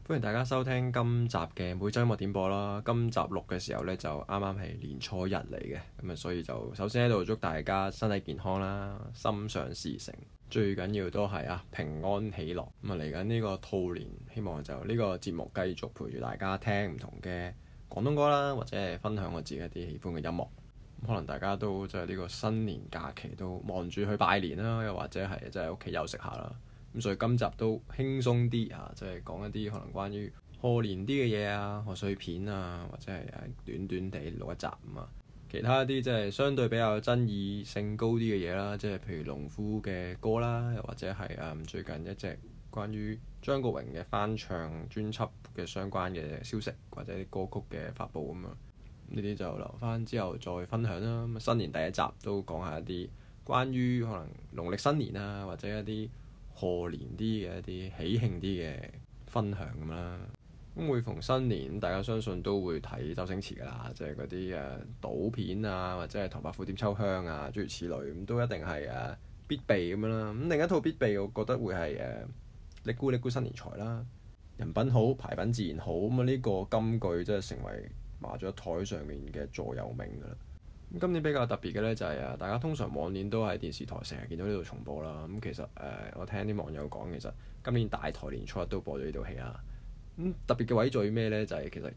歡迎大家收聽今集嘅每週音樂點播啦。今集錄嘅時候呢，就啱啱係年初一嚟嘅，咁啊，所以就首先喺度祝大家身體健康啦，心想事成，最緊要都係平安喜樂。咁啊，嚟緊呢個兔年，希望就呢個節目繼續陪住大家聽唔同嘅廣東歌啦，或者係分享我自己一啲喜歡嘅音樂。可能大家都即係呢個新年假期都忙住去拜年啦，又或者係即係喺屋企休息下啦。咁所以今集都輕鬆啲即係講一啲可能關於賀年啲嘅嘢賀歲片或者係短短地錄一集其他一啲即係相對比較爭議性高啲嘅嘢啦，即係譬如農夫嘅歌啦，又或者係最近一隻關於張國榮嘅翻唱專輯嘅相關嘅消息，或者啲歌曲嘅發布咁呢啲就留翻之後再分享啦。咁新年第一集都講下一啲關於可能農曆新年或者一啲賀年啲嘅一啲喜慶啲嘅分享咁啦。咁每逢新年，大家相信都會睇周星馳㗎啦，即係嗰啲賭片或者係唐伯虎點秋香諸如此類，咁都一定係必備咁樣啦。咁另一套必備，我覺得會係嚦咕嚦咕新年財啦，人品好牌品自然好。咁呢個金句真係成為麻雀台上面嘅座右銘㗎啦。今年比較特別嘅呢，就係大家通常往年都喺電視台成日見到呢度重播啦。咁其實我聽啲網友講，其實今年大台年初一都播咗呢套戲啦。咁特別嘅位在於咩呢？就係其實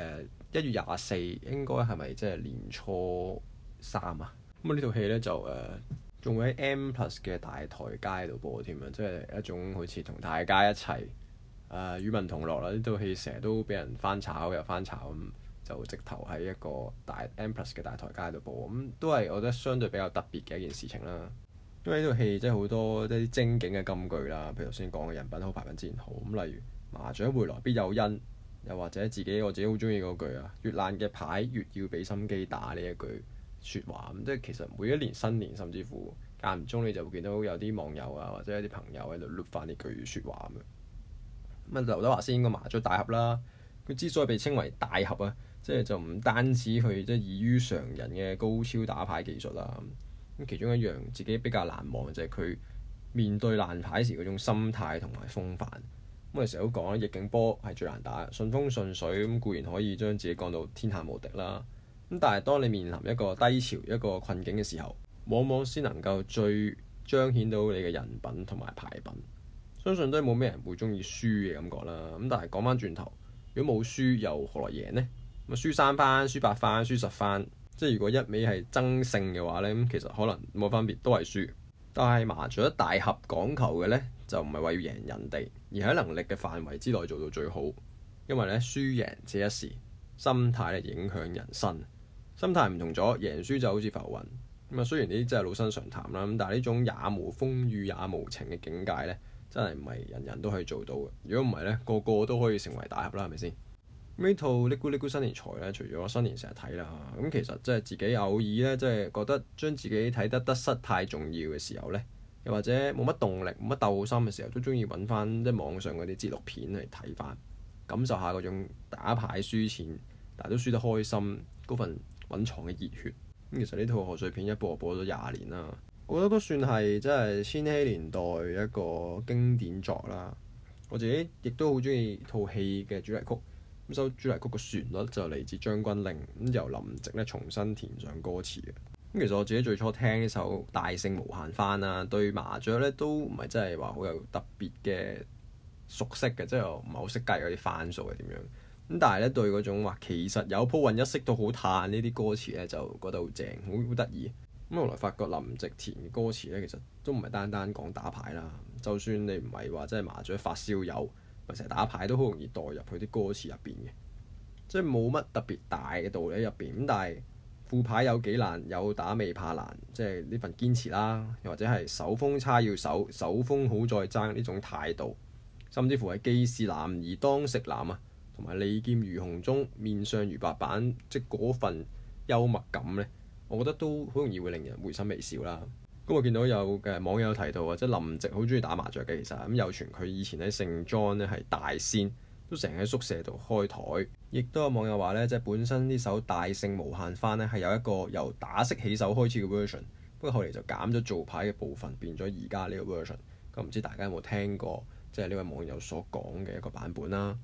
1月24應該係咪即係年初三咁呢套戲呢，就仲會喺 M+ 嘅大台街度播添即係一種好似同大家一齊與民同樂啦。呢套戲成日都俾人翻炒又翻炒咁。就直頭喺一個大 M+ 嘅大台街度播，咁都係我覺得相對比較特別嘅一件事情啦。因為呢套戲即係好多啲精警嘅金句啦，譬如頭先講嘅人品好牌品自然好。咁例如麻雀回來必有因，又或者我自己好中意嗰句越爛嘅牌越要俾心機打呢一句説話。咁即係其實每一年新年，甚至乎間唔中你就會見到有啲網友或者一啲朋友喺度錄翻呢句説話咁劉德華先個麻雀大俠啦，佢之所以被稱為大俠即係就唔單止佢即係異於常人嘅高超打牌技術啦。咁其中一樣自己比較難忘嘅就係佢面對爛牌時嗰種心態同埋風範。咁我哋成日都講逆境波係最難打，順風順水咁固然可以將自己降到天下無敵啦。咁但係當你面臨一個低潮一個困境嘅時候，往往先能夠最彰顯到你嘅人品同埋牌品。相信都係冇咩人會中意輸嘅感覺啦。咁但係講翻轉頭，如果冇輸又何來贏呢？咁輸3番、輸8番、輸10番，即係如果一味係爭勝嘅話呢，咁其實可能冇分別，都係輸。但係麻雀大俠講求嘅呢，就唔係話要贏人哋，而喺能力嘅範圍之內做到最好。因為呢，輸贏這一時，心態咧影響人生。心態唔同咗，贏輸就好似浮雲。咁雖然呢啲真係老生常談啦，咁但係呢種也無風雨也無晴嘅境界呢，真係唔係人人都可以做到嘅。如果唔係呢，個個都可以成為大俠啦，係咪先？呢套嚦咕嚦咕新年財咧，除咗新年成日睇啦，咁其實即係自己偶爾咧，即係覺得將自己睇得失太重要嘅時候咧，又或者冇乜動力、冇乜鬥心嘅時候，都中意揾翻即係網上嗰啲節錄片嚟睇翻，感受下嗰種打牌輸錢，但係都輸得開心嗰份隱藏嘅熱血。咁其實呢套賀歲片一播咗20年啦，我覺得都算係即係千禧年代一個經典作啦。我自己亦都好中意套戲嘅主題曲。咁首主題曲嘅旋律就嚟自《將軍令》，咁由林夕咧重新填上歌詞嘅。咁其實我自己最初聽呢首《大聖無限翻》對麻雀咧都唔係真係話好有特別嘅熟悉嘅，即係唔係好識計嗰啲番數係點樣。咁但係咧對嗰種話其實有鋪運一色都好嘆呢啲歌詞咧，就覺得好正，好得意。咁後來發覺林夕填嘅歌詞咧，其實都唔係單單講打牌啦。就算你唔係話真係麻雀發燒友，成日打牌都好容易代入去啲歌詞入邊嘅，即係冇乜特別大嘅道理喺入邊。咁但係副牌有幾難，有打未怕難，即係呢份堅持啦，又或者係手風差要守，手風好再爭呢種態度，甚至乎係既是男兒當食男同埋利劍如洪鐘，面上如白板，即係嗰份幽默感呢，我覺得都好容易會令人會心微笑啦。咁我見到有嘅網友提到即係林夕好中意打麻雀嘅，其實咁有傳佢以前喺聖莊咧係大仙，都成日喺宿舍度開台。亦都有網友話咧，即係本身呢首《大聖無限翻》咧係有一個由打骰起手開始嘅 version，不過後嚟就減咗做牌嘅部分，變咗而家呢個 version。咁唔知大家有冇聽過即係呢位網友所講嘅一個版本啦？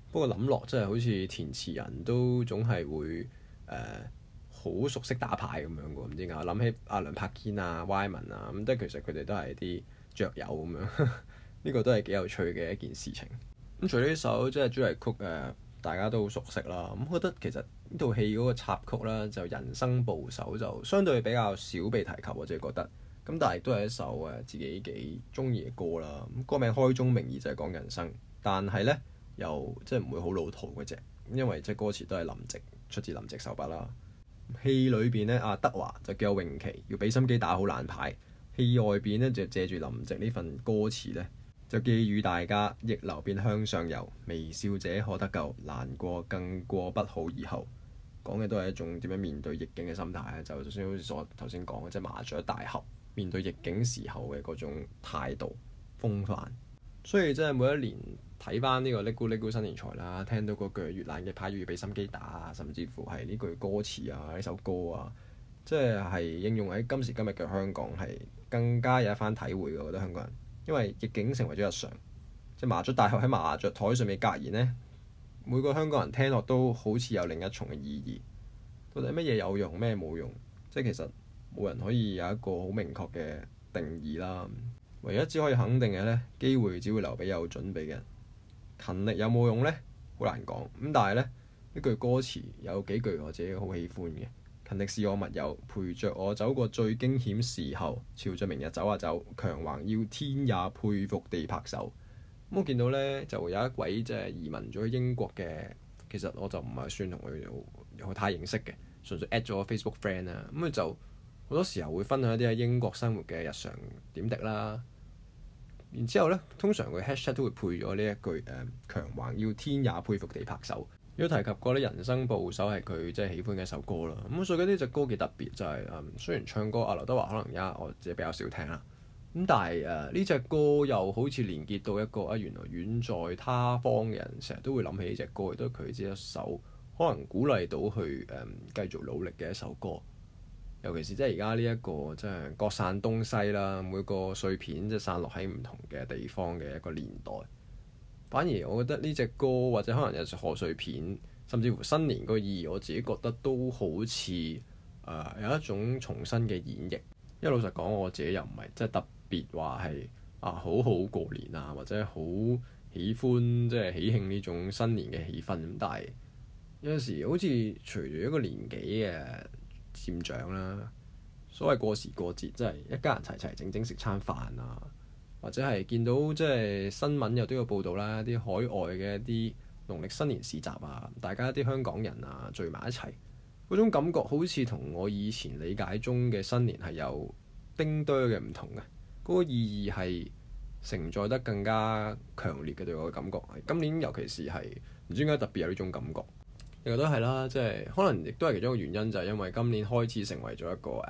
不過諗落真係好似填詞人都總係會好熟悉打牌咁樣嘅喎，唔知點解我諗起阿梁柏堅啊、Wyman 啊，咁即係其實佢哋都係啲雀友咁樣，呢個都係幾有趣嘅一件事情。咁除咗呢首即係主題曲大家都好熟悉啦。咁我覺得其實呢套戲嗰個插曲啦，就人生捕手就相對比較少被提及，我自己覺得。咁但係都係一首自己幾中意嘅歌啦。咁歌名開宗明義就係講人生，但係呢又即係唔會好老土嘅啫，因為即係歌詞都係林夕出自林夕手筆啦。戲裏邊呢，阿德華就叫詠琪要俾心機打好爛牌，戲外邊呢，就借住林夕呢份歌詞呢，就寄語大家逆流便向上游，微笑者可得救，難過更過不好以後。講嘅都係一種點樣面對逆境嘅心態咧，就算好似我頭先講嘅，即係麻雀大俠面對逆境時候嘅嗰種態度風範。所以真係每一年睇翻呢個嚦咕嚦咕新年財啦，聽到嗰句越爛嘅牌要俾心機打啊，甚至乎係呢句歌詞啊，呢首歌啊，即係應用喺今時今日嘅香港係更加有一番體會嘅。我覺得香港人因為逆境成為咗日常，即係麻雀大俠喺麻雀台上面格言呢，每個香港人聽落都好似有另一重嘅意義。到底乜嘢有用，咩冇用？即係其實冇人可以有一個好明確嘅定義啦。唯一只可以肯定嘅呢，機會只會留俾有準備嘅人。勤力有冇用呢？好難講。咁但係呢句歌詞有幾句我自己好喜歡嘅。勤力是我密友，陪着我走過最驚險時候，朝着明日走啊走，強橫要天也佩服地拍手。咁我見到呢，就有一位即係移民咗去英國嘅，其實我就唔係算同佢有太認識嘅，純粹 at 咗我 Facebook friend 啦。咁佢就好多時候會分享一啲喺英國生活嘅日常點滴啦。然之後呢，通常佢 hashtag 都會配咗呢一句強橫要天也佩服地拍手。都提及過啲人生捕手係佢即係喜歡嘅一首歌啦。咁所以呢隻歌幾特別，就係雖然唱歌阿劉德華可能而家我自己比較少聽啦。咁但係呢隻歌又好似連結到一個原來遠在他方嘅人，成日都會諗起呢隻歌，亦都係佢自己一首可能鼓勵到去繼續努力嘅一首歌。尤其是即係而家呢一個即係各散東西啦，每個碎片即係散落喺唔同嘅地方嘅一個年代。反而我覺得呢隻歌或者可能有賀歲片，甚至乎新年個意義，我自己覺得都好似有一種重新嘅演繹。因為老實講，我自己又唔係即係特別話係好好過年啊，或者好喜歡即係喜慶呢種新年嘅氣氛。咁但係有陣時好似隨住一個年紀嘅漸長啦，所謂過時過節，即係一家人齊齊整整食餐飯啊。或者係見到即係新聞又都有報道啦，啲海外嘅一啲農曆新年市集啊，大家啲香港人啊聚埋一齊，嗰種感覺好似同我以前理解中嘅新年係有丁多嘅唔同嘅，嗰個意義係承載得更加強烈嘅，對我嘅感覺。今年尤其是係唔知點解特別有呢種感覺，亦都係啦，即係可能亦都係其中一個原因，就係因為今年開始成為咗一個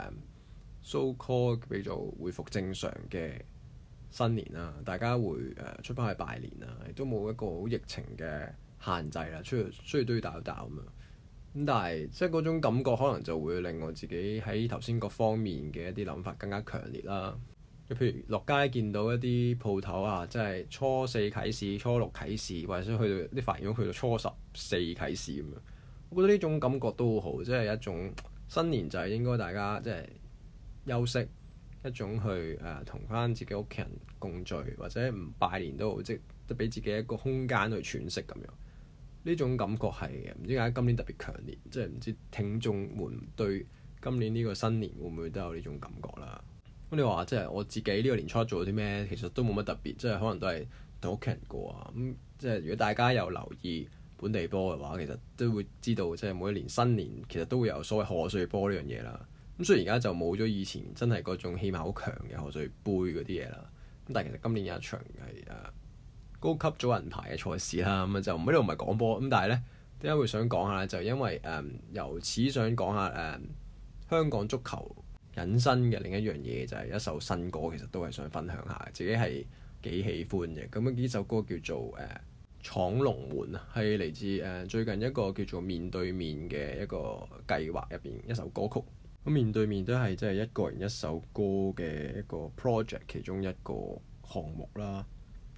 so called 叫做恢復正常嘅新年啦，大家會出翻去拜年啦，亦都冇一個好疫情嘅限制啦，出去雖然都要戴口罩咁樣。咁但係即係嗰種感覺，可能就會令我自己喺頭先各方面嘅一啲諗法更加強烈啦。譬如落街見到一啲鋪頭啊，即係初四啟市、初六啟市，或者去到啲髮型屋去到初14啟市咁樣，我覺得呢種感覺都好好，即係一種新年就係應該大家即係休息。一種去同翻自己屋企人共聚，或者唔拜年都好，即係俾自己一個空間去喘息咁樣。呢種感覺係唔知點解今年特別強烈，即係唔知聽眾們對今年呢個新年會唔會都有呢種感覺啦？咁你話即係我自己呢個年初做咗啲咩？其實都冇乜特別，即係可能都係同屋企人過啊。咁即係如果大家有留意本地波嘅話，其實都會知道即係每一年新年其實都會有所謂賀歲波呢樣嘢啦。咁雖然而家就冇咗以前真係嗰種氣氛好強嘅賀歲杯嗰啲嘢啦，咁但係其實今年有一場係高級組人牌嘅賽事啦，咁就呢度唔係講波，咁但係呢點解會想講下呢？就因為由此想講下香港足球引申嘅另一樣嘢，就係一首新歌，其實都係想分享下，自己係幾喜歡嘅。咁呢首歌叫做闖龍門啊，係嚟自最近一個叫做面對面嘅一個計劃入邊一首歌曲。咁面對面都係即係一個人一首歌嘅一個 project 其中一個項目啦。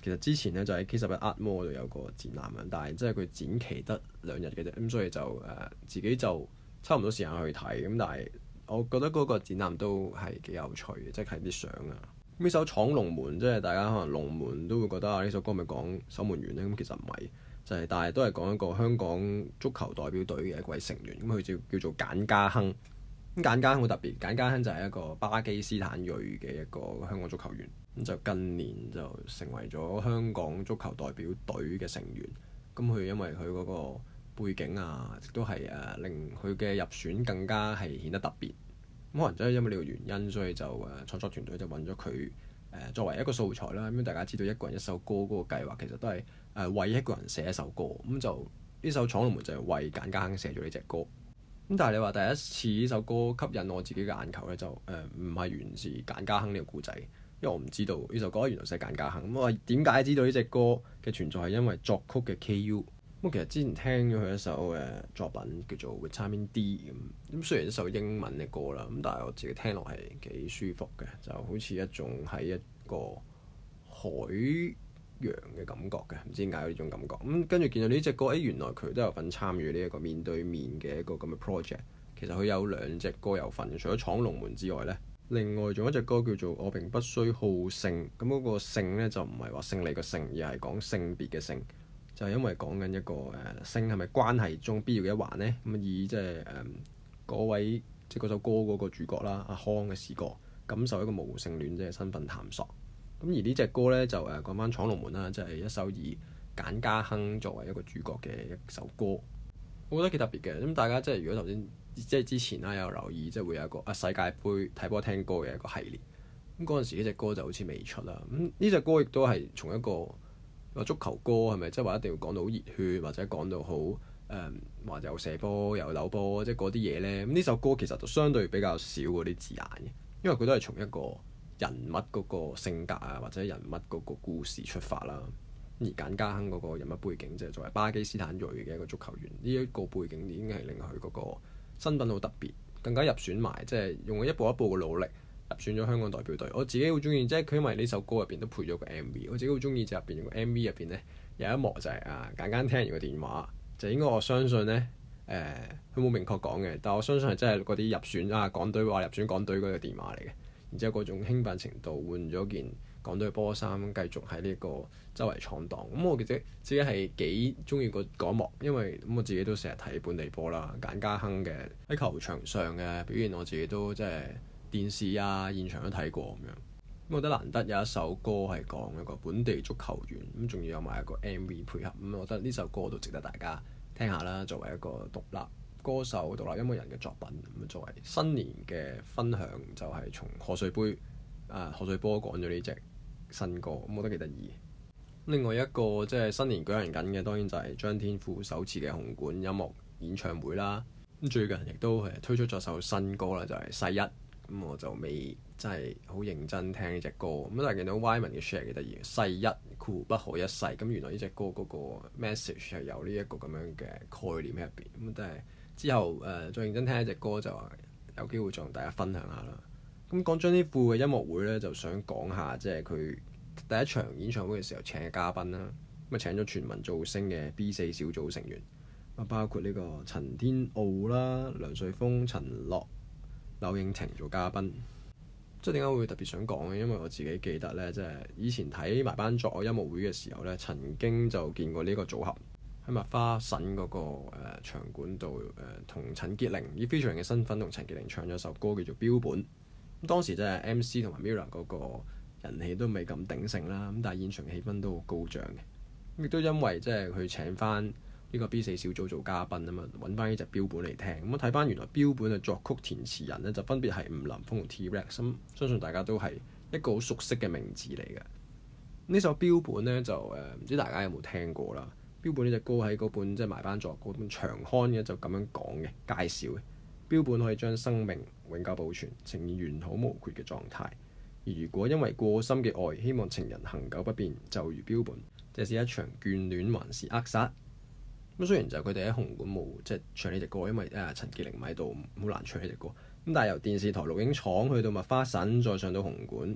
其實之前咧就喺 K11 Art Mall 度有個展覽啊，但係即係佢展期得2日嘅啫，咁所以就自己就抽唔到時間去睇。咁但係我覺得嗰個展覽都係幾有趣嘅，即係睇啲相啊。呢首《闖龍門》即係大家可能龍門都會覺得啊，呢首歌咪講守門員咧，咁其實唔係，就係但係都係講一個香港足球代表隊嘅一位成員，咁佢叫做簡家亨。咁簡家亨好特別，簡家亨就係一個巴基斯坦裔嘅一個香港足球員，咁就近年就成為咗香港足球代表隊嘅成員。咁佢因為佢嗰個背景啊，亦都係令佢嘅入選更加係顯得特別。咁可能真係因為呢個原因，所以就創作團隊就揾咗佢作為一個素材啦。咁大家知道一個人一首歌嗰個計劃其實都係為一個人寫一首歌。咁就呢首《闖龍門》就係為簡家亨寫咗呢隻歌。咁但係你話第一次呢首歌吸引我自己嘅眼球咧，就唔係源自簡家亨呢個故仔，因為我唔知道呢首歌原來寫簡家亨。咁我點解知道呢隻歌嘅存在係因為作曲嘅 KU。咁其實之前聽咗佢一首作品叫做 Vitamin D 咁雖然一首英文嘅歌啦，咁但係我自己聽落係幾舒服嘅，就好似一種喺一個海洋嘅感覺嘅，唔知點解有呢種感覺。咁跟住見到呢隻歌，原來佢都有份參與呢一個面對面嘅一個咁嘅 project。其實佢有2隻歌有份，除咗闖龍門之外呢，另外仲有一隻歌叫做我並不需好勝。咁嗰個勝呢，就唔係話勝利個勝，而係講性別嘅性。就係因為講緊一個性係咪關係中必要嘅一環呢？咁以即係嗰位即係嗰首歌嗰個主角啦，阿康嘅視角感受一個無性戀者嘅身份探索。咁而呢隻歌呢，就講翻闖龍門啦，即係一首以簡家亨作為一個主角嘅一首歌，我覺得幾特別嘅。咁大家即係如果頭先即係之前啦有留意，即係會有一個世界盃睇波聽歌嘅一個系列。咁嗰陣時呢隻歌就好似未出啦。咁呢隻歌亦都係從一個足球歌係咪？即係話一定要講到好熱血，或者講到好話又射波又扭波，即係嗰啲嘢呢。咁呢首歌其實就相對比較少嗰啲字眼嘅，因為佢都係從一個人物嗰個性格啊，或者人物嗰個故事出發啦。而簡家亨嗰個人物背景，即係作為巴基斯坦裔嘅一個足球員，呢一個背景已經係令佢嗰個身份好特別，更加入選埋，即係用咗一步一步嘅努力入選咗香港代表隊。我自己好中意，即係佢因為呢首歌入邊都配咗個 MV，我自己好中意就入邊個 MV 入邊呢，有一幕就係簡家亨聽完個電話，就應該我相信呢，佢冇明確講嘅，但我相信係真係嗰啲入選港隊話入選港隊嗰個電話嚟嘅。然之後嗰種興奮程度，換咗件港隊嘅波衫，繼續喺呢個周圍闖蕩。咁我記得自己係幾中意嗰一幕，因為我自己都成日睇本地波啦。簡家亨嘅喺球場上嘅表現，我自己都即係電視現場都睇過咁樣。我覺得難得有一首歌係講一個本地足球員，咁仲要有埋一個 MV 配合。咁我覺得呢首歌都值得大家聽下啦。作為一個獨立歌手、獨立音樂人嘅作品，咁作為新年嘅分享，就係從賀歲杯賀歲波講咗呢隻新歌，咁我覺得幾得意。另外一個即係新年舉行緊嘅，當然就係張天賦首次嘅紅館音樂演唱會啦。咁最近亦都係推出咗首新歌啦，就係世一。咁我就未真係好認真聽呢隻歌，咁但係見到 Wyman 嘅 share 幾得意，世一酷不可一世。咁原來呢隻歌嗰個 message 係有呢一個咁樣嘅概念喺入邊。咁但係之後再認真聽一隻歌，就有機會再同大家分享下啦。咁講張天賦嘅音樂會咧，就想講下即係佢第一場演唱會嘅時候請嘅嘉賓啦。咁請咗全民造星嘅 B4 小組成員，包括呢個陳天傲啦、梁瑞豐、陳樂、柳應廷做嘉賓。即係點解會特別想講呢？因為我自己記得呢，即係以前睇埋班作音樂會嘅時候呢，曾經就見過呢個組合喺麥花臣嗰個場館度同陳潔靈以 featuring 嘅身份同陳潔靈唱咗首歌叫做《標本》。咁當時即係 MC 同埋 Mirror 嗰個人氣都未咁鼎盛啦，咁但係現場氣氛都好高漲嘅。亦都因為即係佢請翻呢個 B4 小組做嘉賓啊嘛，揾翻呢隻標本嚟聽。咁我睇翻原來標本嘅作曲填詞人呢，就分別係吳林峰同 T-Rex。咁相信大家都係一個好熟悉嘅名字嚟嘅。呢首標本呢，就唔知大家有冇聽過啦。標本呢隻歌喺嗰本即係埋班作嗰本長刊嘅就咁樣講嘅介紹嘅。標本可以將生命永久保存，呈現完好無缺嘅狀態。而如果因為過深嘅愛，希望情人恆久不變，就如標本，這是一場眷戀還是扼殺？咁雖然就佢哋喺紅館冇即係唱呢隻歌，因為陳潔靈唔喺度，好難唱呢隻歌。咁但係由電視台錄影廠去到麥花臣，再上到紅館，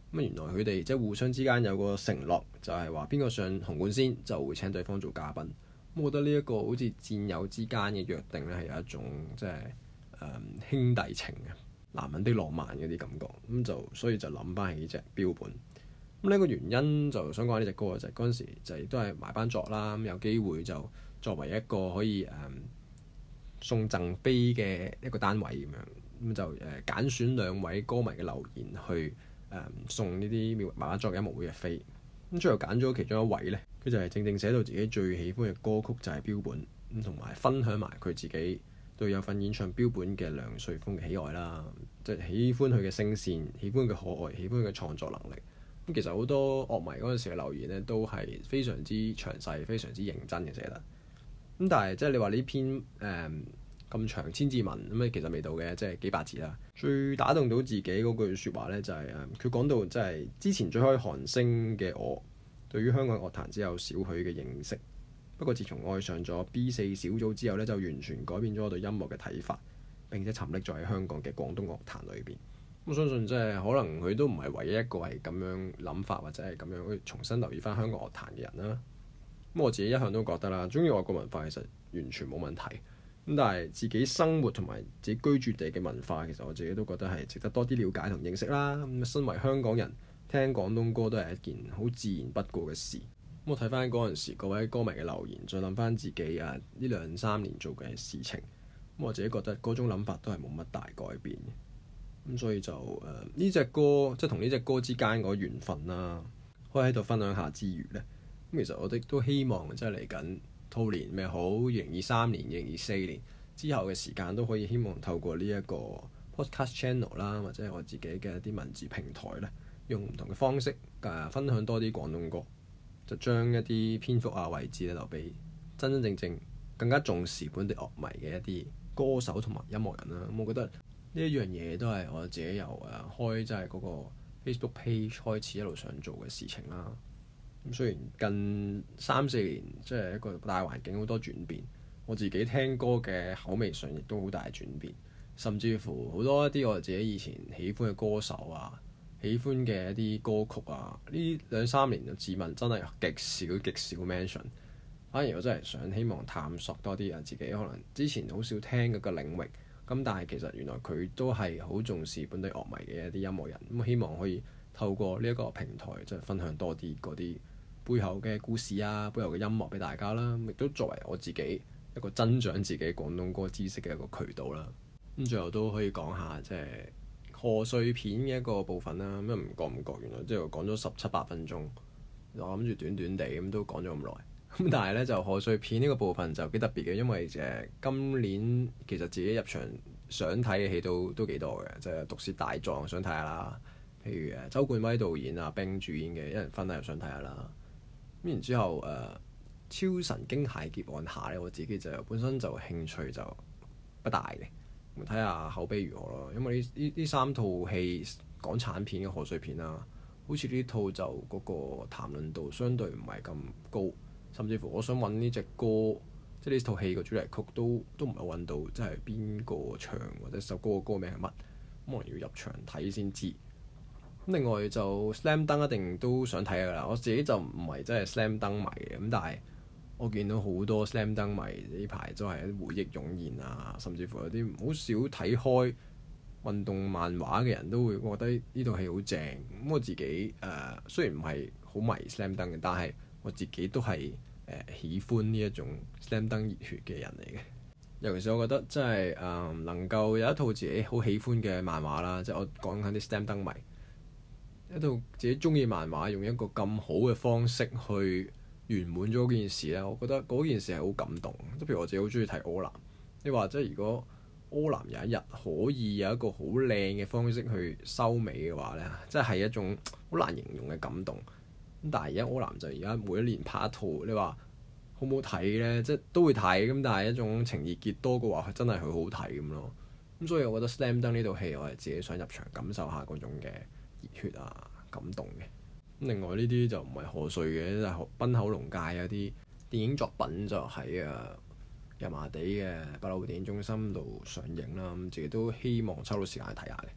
咁原來佢哋即係互相之間有個承諾，就係話邊個上紅館先就會請對方做嘉賓。咁我覺得呢一個好似戰友之間嘅約定咧，係有一種即係兄弟情嘅男人的浪漫嗰啲感覺。咁就所以就諗翻起呢隻標本。咁呢個原因就想講呢隻歌就係嗰陣時就亦都係埋班作啦。咁有機會就作為一個可以送贈飛嘅一個單位咁樣，咁就揀選兩位歌迷嘅留言去送呢啲埋班作嘅音樂會嘅飛。咁最後揀咗其中一位呢，佢就係正正寫到自己最喜歡嘅歌曲就係標本，咁同埋分享埋佢自己對有份演唱標本嘅梁瑞豐嘅喜愛啦，即係喜歡佢嘅聲線，喜歡佢嘅可愛，喜歡佢嘅創作能力。咁其實好多樂迷嗰陣時嘅留言呢，都係非常之詳細、非常之認真嘅寫得。咁但係即係你話呢篇咁長千字文咁其實未到嘅，即係幾百字啦。最打動到自己嗰句説話呢，就係佢講到即係之前追開韓星嘅我，對於香港樂壇只有少許嘅認識。不過自從愛上咗 B4 小組之後呢，就完全改變咗我對音樂嘅睇法，並且沉溺在香港嘅廣東樂壇裏邊。我相信即係可能佢都唔係唯一一個係咁樣諗法，或者係咁樣去重新留意翻香港樂壇嘅人啦。咁我自己一向都覺得啦，中意外國文化其實完全冇問題。咁但係自己生活同埋自己居住地嘅文化，其實我自己都覺得係值得多啲了解同認識啦。咁身為香港人，聽廣東歌都係一件好自然不過嘅事。咁我睇翻嗰陣時各位歌迷嘅留言，再諗翻自己呢2-3年做嘅事情，咁我自己覺得嗰種諗法都係冇乜大改變嘅。咁所以就呢隻歌即係同呢隻歌之間嗰個緣分啦，可以喺度分享下之餘呢，咁其實我哋都希望即係嚟緊兔年咩好，2023年、2024年之後嘅時間都可以希望透過呢一個 podcast channel 啦，或者我自己嘅一啲文字平台呢，用唔同嘅方式分享多啲廣東歌，就將一啲篇幅位置咧留俾真真正正更加重視本地樂迷嘅一啲歌手同埋音樂人啦。咁我覺得呢一樣嘢都係我自己由開即係嗰個 Facebook page 開始一路想做嘅事情啦。咁雖然近3-4年即係一個大環境好多轉變，我自己聽歌嘅口味上亦都好大轉變，甚至乎好多一啲我自己以前喜歡嘅歌手啊、喜歡嘅一啲歌曲啊，呢2-3年就自問真係極少 mention。反而我真係想希望探索多啲自己可能之前好少聽嗰個領域。咁但係其實原來佢都係好重視本地樂迷嘅一啲音樂人，咁希望可以透過呢一個平台即係分享多啲嗰啲背後嘅故事啊、背後嘅音樂俾大家啦，亦都作為我自己一個增長自己廣東歌知識嘅一個渠道啦。咁最後都可以講下即係賀歲片嘅一個部分啦。咁唔覺原來即係講咗17-18分鐘，我諗住短短地咁都講咗咁耐。咁但係咧就賀歲片呢個部分就幾特別嘅，因為今年其實自己入場想睇嘅戲都幾多嘅，即係《毒舌大狀》想睇下啦，譬如周冠威導演冰主演嘅《一人分》又想睇下啦。咁然之後超神經械劫案下咧，我自己就本身就興趣就不大嘅，咁睇下口碑如何咯。因為呢3套戲港產片嘅賀歲片啦，好似呢套就嗰個談論度相對唔係咁高。甚至乎我想揾呢隻歌，即係呢套戲個主題曲都唔係揾到，即係邊個唱或者首歌嘅歌名係乜，可能要入場睇先知。咁另外就 Slam Dunk 一定都想睇㗎啦，我自己就唔係真係 Slam Dunk 迷嘅，咁但係我見到好多 Slam Dunk 迷呢排都係啲回憶湧現啊，甚至乎有啲好少睇開運動漫畫嘅人都會覺得呢套戲好正。咁我自己雖然唔係好迷 Slam Dunk 嘅，但係我自己都係喜歡呢一種 Slam Dunk 熱血嘅人嚟嘅。尤其是我覺得真係能夠有一套自己好喜歡嘅漫畫啦，即係我講緊啲 Slam Dunk 迷，一套自己中意漫畫用一個咁好嘅方式去圓滿咗嗰件事咧，我覺得嗰件事係好感動。即譬如我自己好中意睇柯南，你話即係如果柯南有一日可以有一個好靚嘅方式去收尾嘅話咧，即係一種好難形容嘅感動。但係而家柯南就而家每一年拍一套，你話好唔好睇呢？即係都會睇咁，但係一種情意結多嘅話，真係佢好睇咁咯。咁所以我覺得《Slam Dunk》呢套戲，我係自己想入場感受下嗰種嘅熱血感動嘅。咁另外呢啲就唔係賀歲嘅，就係濱口龍介有啲電影作品就喺油麻地嘅百老匯電影中心度上映啦。咁自己都希望抽到時間去睇下嘅。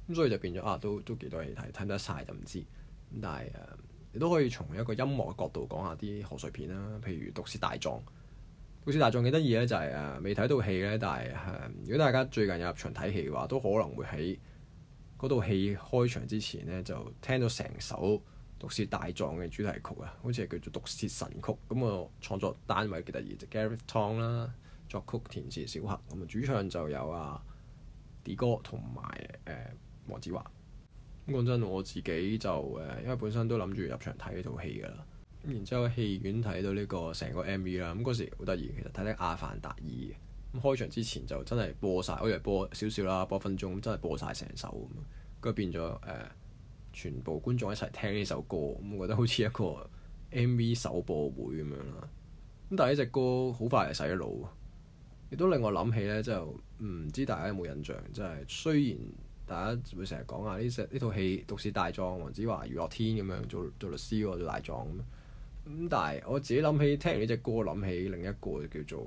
咁所以就變咗都幾多戲睇唔得晒就唔知。咁但係你都可以從一個音樂嘅角度講下啲賀歲片啦，譬如《毒舌大狀》。《毒舌大狀》幾得意咧，就係未睇到戲咧，但係如果大家最近有入場睇戲嘅話，都可能會喺嗰套戲開場之前咧，就聽到成首《毒舌大狀》嘅主題曲啊，好似係叫做《毒舌神曲》。咁個創作單位幾得意，就 Gareth Tong 啦，作曲填詞小黑。咁啊主唱就有D 哥同埋黃子華。咁講真，我自己就因為本身都諗住入場睇呢套戲㗎啦。咁然之後喺戲院睇到呢個成個 MV 啦。咁嗰時好得意，其實睇得《阿凡達2》嘅。咁開場之前就真係播晒，我以為播少少啦，播分鐘，咁真係播晒成首咁。跟住變咗全部觀眾一齊聽呢首歌，咁我覺得好似一個 MV 首播會咁樣啦。咁但係呢隻歌好快就洗咗腦，亦都令我諗起咧，就唔知大家有冇印象，即係雖然大家會成日講啊呢套戲《毒舌大狀》，黃子華、余樂天咁樣做律師喎，做大狀咁，但係我自己諗起聽完呢隻歌，諗起另一個叫做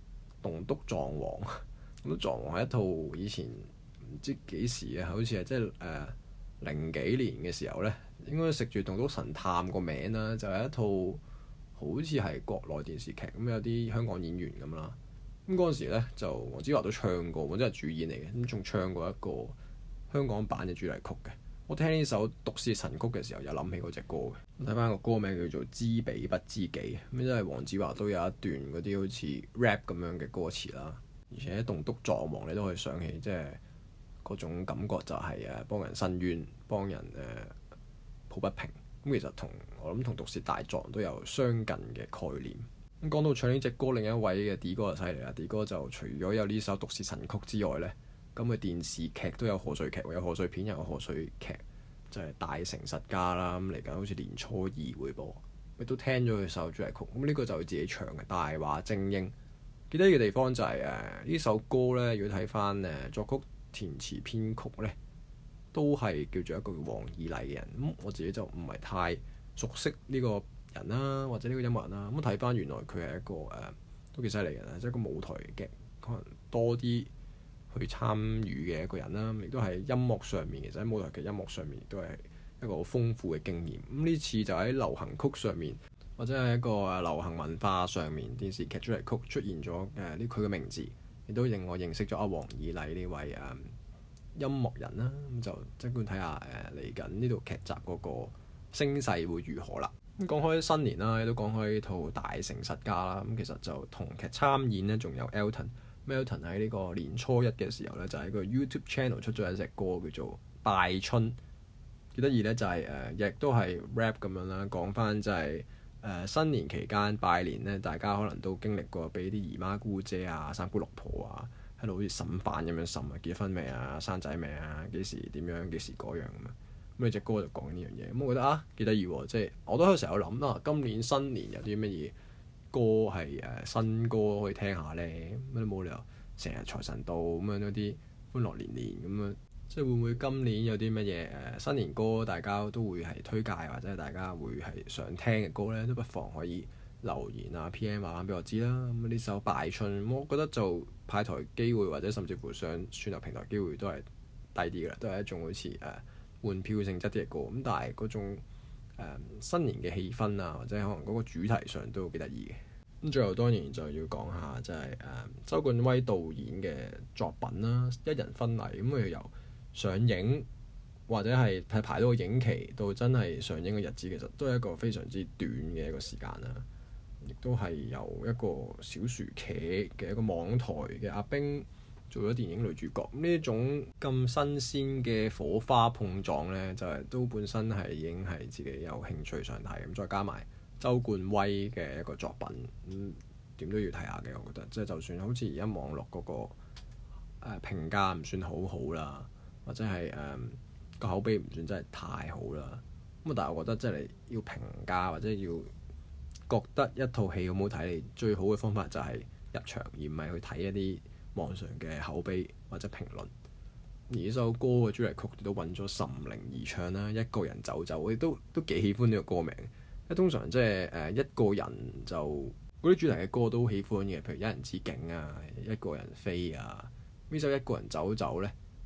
《棟篤撞王》。《棟篤撞王》係一套以前唔知幾時啊，好似係即係零幾年嘅時候咧，應該食住《棟篤神探》個名啦，就係一套好似係國內電視劇咁，有啲香港演員咁啦。咁嗰陣時咧，就黃子華都唱過，或者係主演嚟嘅，咁仲唱過一個香港版嘅主題曲嘅。我聽呢首《毒舌神曲》嘅時候，有諗起嗰隻歌嘅。睇翻個歌名叫做《知彼不知己》，咁即係黃子華都有一段嗰啲好似 rap 咁樣嘅歌詞啦。而且棟篤撞王你都可以想起，即係嗰種感覺就係幫人伸冤、幫人抱不平。咁其實我諗同《毒舌大狀》都有相近嘅概念。咁講到唱呢隻歌，另一位嘅 D 哥就犀利啦。D 哥就除咗有呢首《毒舌神曲》之外呢，咁嘅電視劇都有賀歲劇，有賀歲片又有賀歲劇，就係《大成實家》啦。咁嚟緊好似年初二會播，亦都聽咗佢首主題曲。咁呢個就佢自己唱嘅《大話精英》。記得嘅地方就係呢首歌呢，如果睇翻作曲、填詞、編曲呢，都係叫做一個叫黃以禮嘅人。咁我自己就唔係太熟悉呢個人啦，或者呢個音樂人啦。咁睇翻原來佢係一個都幾犀利嘅人，即係一個舞台劇可能多啲去參與嘅一個人啦。亦都係音樂上面，其實喺舞台劇音樂上面亦都係一個好豐富嘅經驗。咁呢次就喺流行曲上面，或者係一個流行文化上面，電視劇主題曲出現咗佢嘅名字，亦都令我認識咗黃以禮呢位音樂人啦。咁就即管睇下嚟緊呢套劇集嗰個聲勢會如何啦。咁講開新年啦，亦都講開呢套《大成實家》啦。咁其實就同劇參演呢，仲有 Elton。Elton 喺呢個年初一嘅時候呢，就喺個 YouTube channel 出咗一隻歌叫做《拜春》，幾得意呢，就係亦都係 rap 咁樣啦，講翻就係新年期間拜年呢，大家可能都經歷過俾啲姨媽姑姐啊、三姑六婆啊喺度好似審犯咁樣審啊，結婚未啊、生仔未啊、幾時點樣、幾時嗰樣咁啊。咁呢隻歌就講呢樣嘢，咁我覺得幾得意喎，即係我都成日有諗今年新年有啲乜嘢歌係新歌可以聽下呢？咁都冇理由成日財神到咁樣嗰啲歡樂年年咁樣，即係會唔會今年有啲乜嘢新年歌大家都會係推介，或者大家會係想聽嘅歌呢？都不妨可以留言PM 話翻俾我知啦。咁呢首《拜春》，我覺得就派台機會或者甚至乎上串流平台機會都係低啲㗎啦，都係一種好似換票性質啲嘅歌。咁但係嗰種新年嘅氣氛啊，或者可能嗰個主題上都幾得意嘅。咁最後當然就要講下就係周冠威導演嘅作品啦，《一人婚禮》。咁佢由上映或者係排到個影期到真係上映嘅日子，其實都係一個非常之短嘅一個時間啦。亦都係由一個小薯茄嘅一個網台嘅阿冰做咗電影女主角。呢種咁新鮮嘅火花碰撞呢，就係都本身係已經係自己有興趣想睇。咁再加埋周冠威嘅一個作品，點都要睇下嘅。我覺得即係就算好似而家網絡嗰個評價唔算好好啦，或者係個口碑唔算真係太好啦。咁但係我覺得即係你要評價或者要覺得一套戲好唔好睇，你最好嘅方法就係入場，而唔係去睇一啲網上嘅口碑或者評論。而呢首歌嘅主題曲都揾咗岑寧兒唱啦，一個人走走，我亦都幾喜歡呢個歌名。因為通常即係一個人就嗰啲主題嘅歌都好喜歡嘅，譬如一人之境啊、一個人飛啊。呢首一個人走走呢，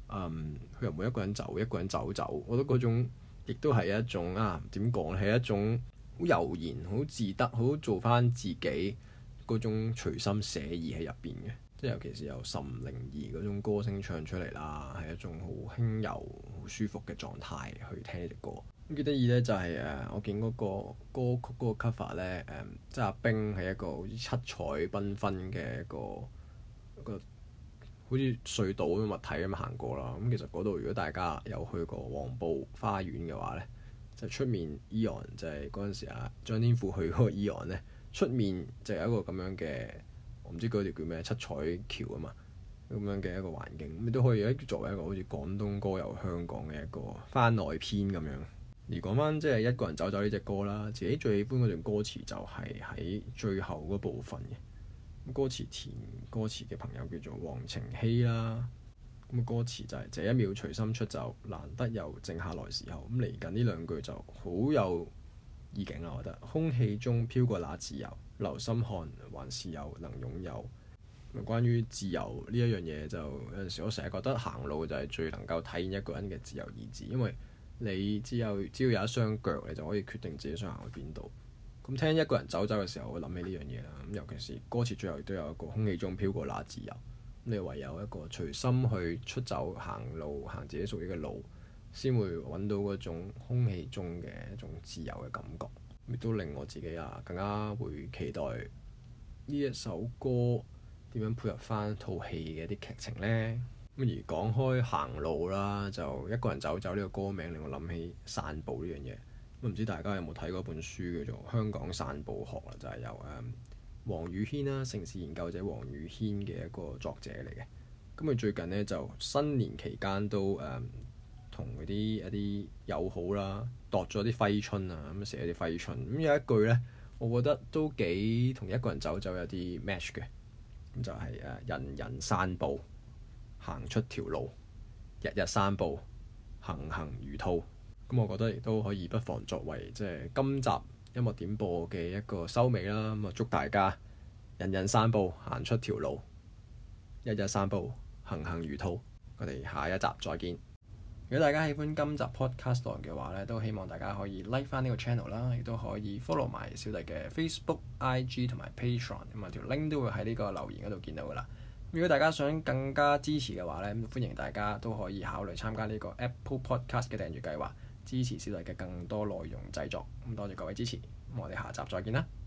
佢又唔會一個人走，一個人走走。我覺得嗰種亦都係一種點講咧，係一種好悠然、好自得、好做翻自己嗰種隨心寫意喺入邊嘅。即係尤其是由岑寧兒嗰種歌聲唱出嚟啦，係一種好輕柔、好舒服嘅狀態去聽呢隻歌。咁幾得意咧，就係我見嗰個歌曲嗰個 cover 咧，即係阿冰係一個好似七彩繽紛嘅一個好似隧道咁嘅物體咁行過啦。咁其實嗰度如果大家有去過黃埔花園嘅話咧，就出面 Eon 就係嗰陣時張天賦去嗰個 Eon 咧，出面就有一個咁樣嘅。我唔知嗰條叫咩七彩橋啊嘛，咁樣嘅一個環境，咁都可以作為一個好似廣東歌遊香港嘅一個番外篇咁樣。而講翻即係一個人走走呢隻歌啦，自己最喜歡嗰段歌詞就係喺最後嗰部分嘅。歌詞填歌詞嘅朋友叫做黃晴希啦。咁歌詞就係這一秒隨心出走，難得又靜下來時候。咁嚟緊呢兩句就好有意境啦，我覺得。空氣中飄過那自由。留心看，還是有能擁有。關於自由呢一樣嘢，就有陣時我成日覺得行路就係最能夠體現一個人嘅自由意志，因為你只要有一雙腳，你就可以決定自己想行去邊度。咁聽一個人走走嘅時候，我諗起呢樣嘢啦。咁尤其是歌詞最後都有一個空氣中飄過那自由，你唯有一個隨心去出走行路，行自己屬於嘅路，先會揾到嗰種空氣中嘅一種自由嘅感覺。亦都令我自己更加會期待呢一首歌點樣配合翻套戲嘅一啲劇情呢？咁而講開行路啦，就一個人走走呢個歌名令我諗起散步呢樣嘢。咁唔知大家有冇睇過本書叫做《香港散步學》啦，就係由黃宇軒啦，城市研究者黃宇軒嘅一個作者嚟嘅。咁佢最近呢，就新年期間都同嗰啲一啲友好啦，度咗啲揮春啊，咁寫啲揮春。咁有一句咧，我覺得都幾同一個人走走有啲 match 嘅。咁就係人人散步，行出條路，日日散步，行行如兔。咁我覺得亦都可以不妨作為即係今集音樂點播嘅一個收尾啦。咁祝大家人人散步，行出條路，日日散步，行行如兔。我哋下一集再見。如果大家喜歡今集 podcast 嘅話咧，都希望大家可以 like 翻呢個 channel 啦，亦都可以 follow 埋小弟嘅 Facebook、IG 同埋 Patreon，咁啊條 link 都會喺呢個留言嗰度見到噶啦。如果大家想更加支持嘅話咧，歡迎大家都可以考慮參加呢個 Apple Podcast 嘅訂閱計劃，支持小弟嘅更多內容製作。咁多謝各位支持，咁我哋下集再見啦。